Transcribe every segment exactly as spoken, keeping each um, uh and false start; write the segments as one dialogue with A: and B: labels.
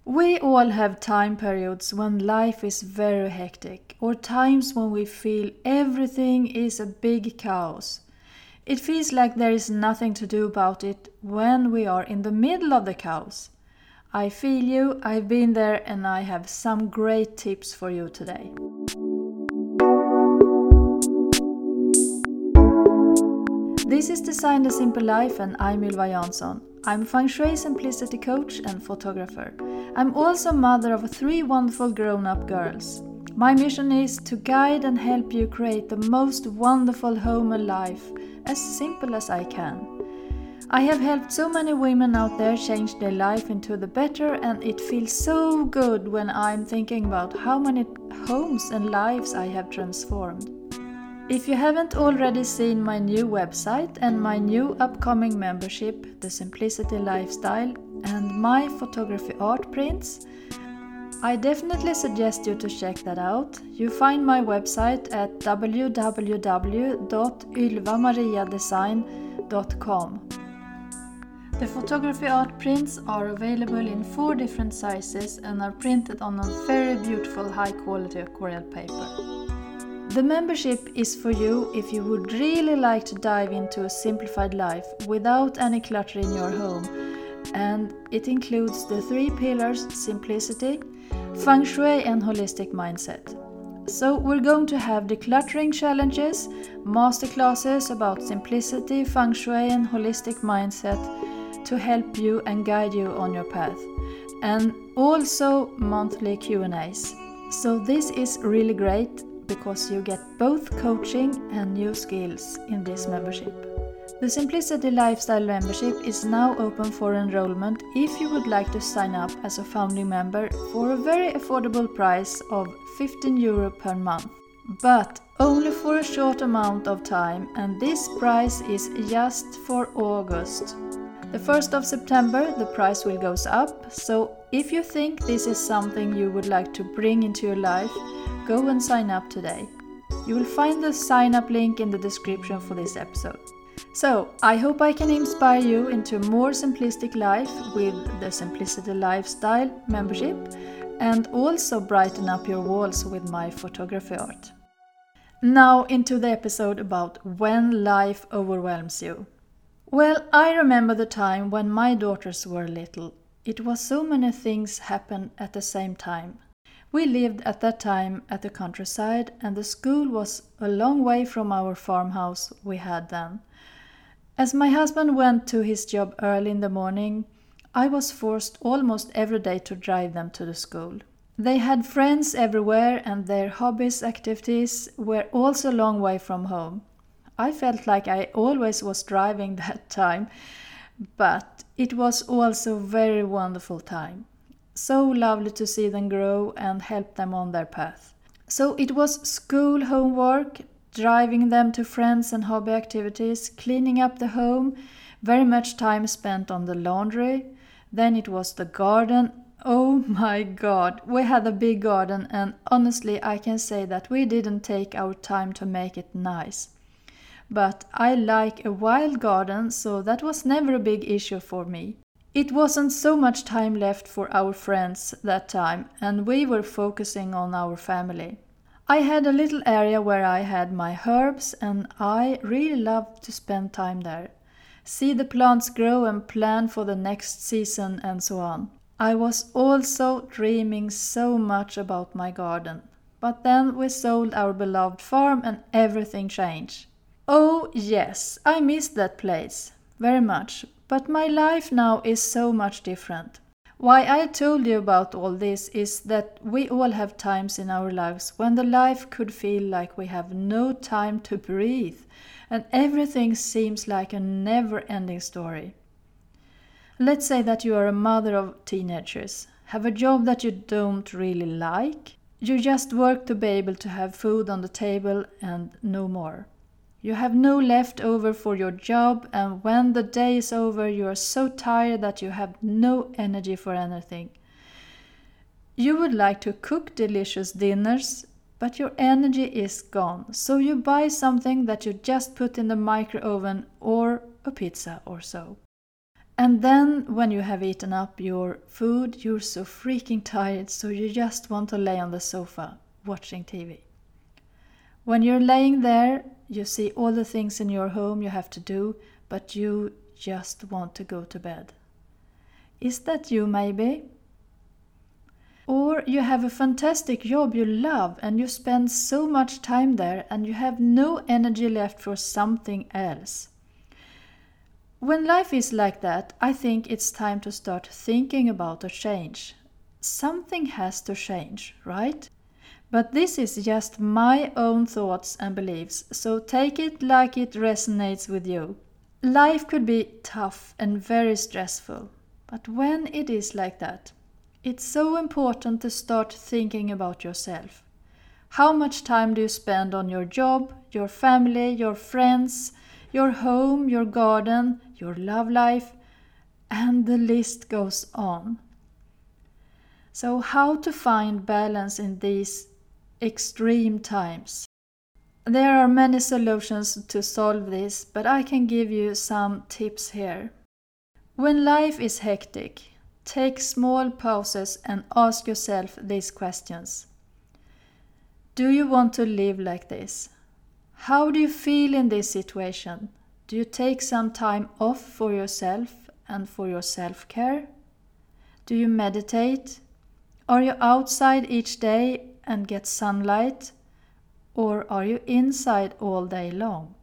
A: We all have time periods when life is very hectic, or times when we feel everything is a big chaos. It feels like there is nothing to do about it when we are in the middle of the chaos. I feel you, I've been there, and I have some great tips for you today. This is Design the Simple Life, and I'm Ylva Jansson. I'm a Feng Shui Simplicity coach and photographer. I'm also mother of three wonderful grown-up girls. My mission is to guide and help you create the most wonderful home and life, as simple as I can. I have helped so many women out there change their life into the better, and it feels so good when I'm thinking about how many homes and lives I have transformed. If you haven't already seen my new website and my new upcoming membership, The Simplicity Lifestyle, and my photography art prints, I definitely suggest you to check that out. You find my website at w w w dot ylva maria design dot com. The photography art prints are available in four different sizes and are printed on a very beautiful high quality aquarelle paper. The membership is for you if you would really like to dive into a simplified life without any clutter in your home, and it includes the three pillars: simplicity, Feng Shui and holistic mindset. So we're going to have decluttering challenges, masterclasses about simplicity, Feng Shui and holistic mindset to help you and guide you on your path, and also monthly Q and A's. So this is really great, because you get both coaching and new skills in this membership. The Simplicity Lifestyle membership is now open for enrollment if you would like to sign up as a founding member for a very affordable price of fifteen euro per month. But only for a short amount of time, and this price is just for August. The first of September the price will goes up, so if you think this is something you would like to bring into your life, go and sign up today. You will find the sign up link in the description for this episode. So, I hope I can inspire you into a more simplistic life with the Simplicity Lifestyle membership, and also brighten up your walls with my photography art. Now into the episode about when life overwhelms you. Well, I remember the time when my daughters were little. It was so many things happened at the same time. We lived at that time at the countryside, and the school was a long way from our farmhouse we had then. As my husband went to his job early in the morning, I was forced almost every day to drive them to the school. They had friends everywhere, and their hobbies, activities were also a long way from home. I felt like I always was driving that time, but it was also a very wonderful time. So lovely to see them grow and help them on their path. So it was school, homework, driving them to friends and hobby activities, cleaning up the home, very much time spent on the laundry. Then it was the garden. Oh my God, we had a big garden, and honestly I can say that we didn't take our time to make it nice. But I like a wild garden, so that was never a big issue for me. It wasn't so much time left for our friends that time, and we were focusing on our family. I had a little area where I had my herbs, and I really loved to spend time there. See the plants grow and plan for the next season and so on. I was also dreaming so much about my garden. But then we sold our beloved farm and everything changed. Oh yes, I miss that place very much. But my life now is so much different. Why I told you about all this is that we all have times in our lives when the life could feel like we have no time to breathe, and everything seems like a never-ending story. Let's say that you are a mother of teenagers, have a job that you don't really like, you just work to be able to have food on the table and no more. You have no left over for your job, and when the day is over you are so tired that you have no energy for anything. You would like to cook delicious dinners, but your energy is gone, so you buy something that you just put in the micro oven or a pizza or so. And then when you have eaten up your food, you're so freaking tired, so you just want to lay on the sofa watching T V. When you're laying there, you see all the things in your home you have to do, but you just want to go to bed. Is that you maybe? Or you have a fantastic job you love and you spend so much time there and you have no energy left for something else. When life is like that, I think it's time to start thinking about a change. Something has to change, right? But this is just my own thoughts and beliefs, so take it like it resonates with you. Life could be tough and very stressful, but when it is like that, it's so important to start thinking about yourself. How much time do you spend on your job, your family, your friends, your home, your garden, your love life, and the list goes on. So how to find balance in these extreme times? There are many solutions to solve this, but I can give you some tips here. When life is hectic, take small pauses and ask yourself these questions. Do you want to live like this? How do you feel in this situation? Do you take some time off for yourself and for your self-care? Do you meditate? Are you outside each day and get sunlight? Or are you inside all day long?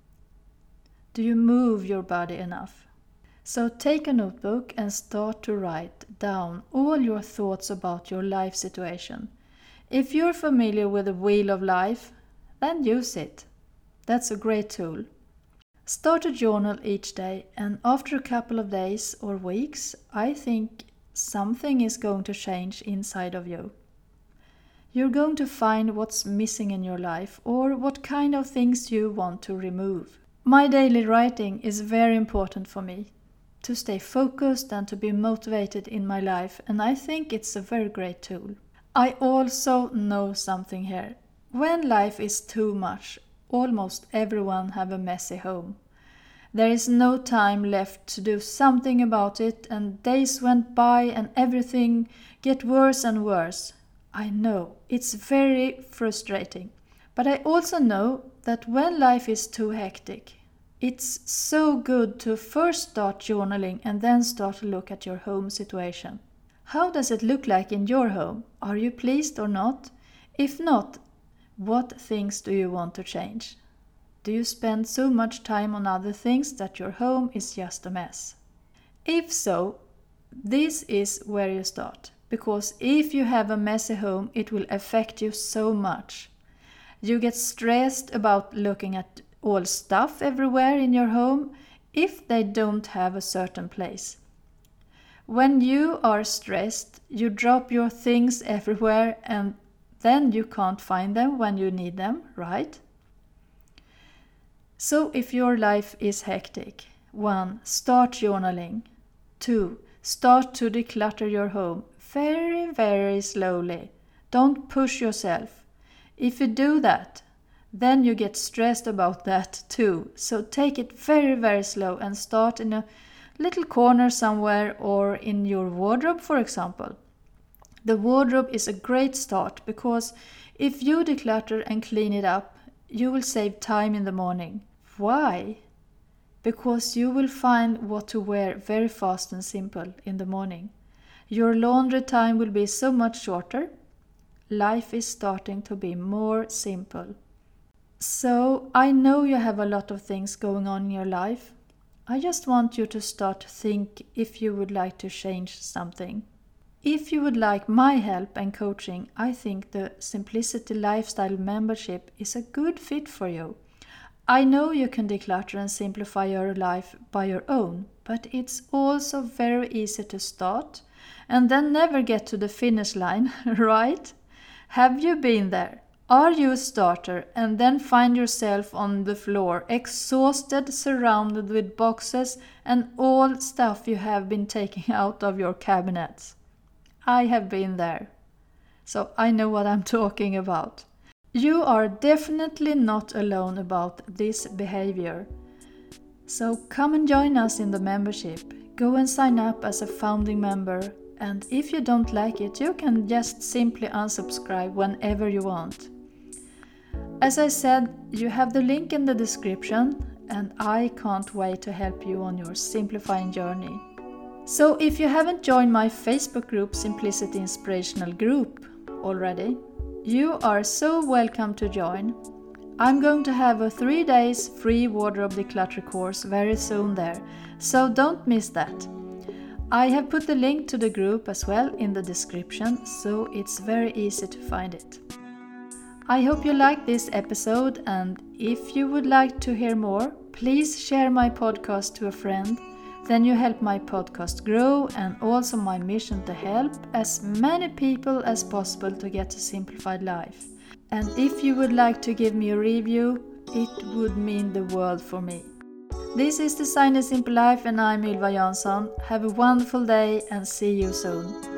A: Do you move your body enough? So take a notebook and start to write down all your thoughts about your life situation. If you're familiar with the Wheel of Life, then use it. That's a great tool. Start a journal each day, and after a couple of days or weeks, I think something is going to change inside of you. You're going to find what's missing in your life or what kind of things you want to remove. My daily writing is very important for me, to stay focused and to be motivated in my life, and I think it's a very great tool. I also know something here. When life is too much, almost everyone have a messy home. There is no time left to do something about it, and days went by and everything get worse and worse. I know, it's very frustrating. But I also know that when life is too hectic, it's so good to first start journaling and then start to look at your home situation. How does it look like in your home? Are you pleased or not? If not, what things do you want to change? Do you spend so much time on other things that your home is just a mess? If so, this is where you start. Because if you have a messy home, it will affect you so much. You get stressed about looking at all stuff everywhere in your home if they don't have a certain place. When you are stressed, you drop your things everywhere and then you can't find them when you need them, right? So if your life is hectic, one, start journaling. Two, start to declutter your home very, very slowly. Don't push yourself. If you do that, then you get stressed about that too. So take it very, very slow and start in a little corner somewhere or in your wardrobe, for example. The wardrobe is a great start because if you declutter and clean it up, you will save time in the morning. Why? Because you will find what to wear very fast and simple in the morning. Your laundry time will be so much shorter. Life is starting to be more simple. So I know you have a lot of things going on in your life. I just want you to start to think if you would like to change something. If you would like my help and coaching, I think the Simplicity Lifestyle membership is a good fit for you. I know you can declutter and simplify your life by your own, but it's also very easy to start and then never get to the finish line, right? Have you been there? Are you a starter and then find yourself on the floor, exhausted, surrounded with boxes and all stuff you have been taking out of your cabinets? I have been there, so I know what I'm talking about. You are definitely not alone about this behavior. So come and join us in the membership. go and sign up as a founding member, and if you don't like it, you can just simply unsubscribe whenever you want. As I said, you have the link in the description, and I can't wait to help you on your simplifying journey. So if you haven't joined my Facebook group Simplicity Inspirational Group already, you are so welcome to join. I'm going to have a three days free wardrobe declutter course very soon there, so don't miss that. I have put the link to the group as well in the description, so it's very easy to find it. I hope you liked this episode, and if you would like to hear more, please share my podcast to a friend. Then you help my podcast grow and also my mission to help as many people as possible to get a simplified life. And if you would like to give me a review, it would mean the world for me. This is Design a Simple Life, and I'm Ylva Jansson. Have a wonderful day and see you soon.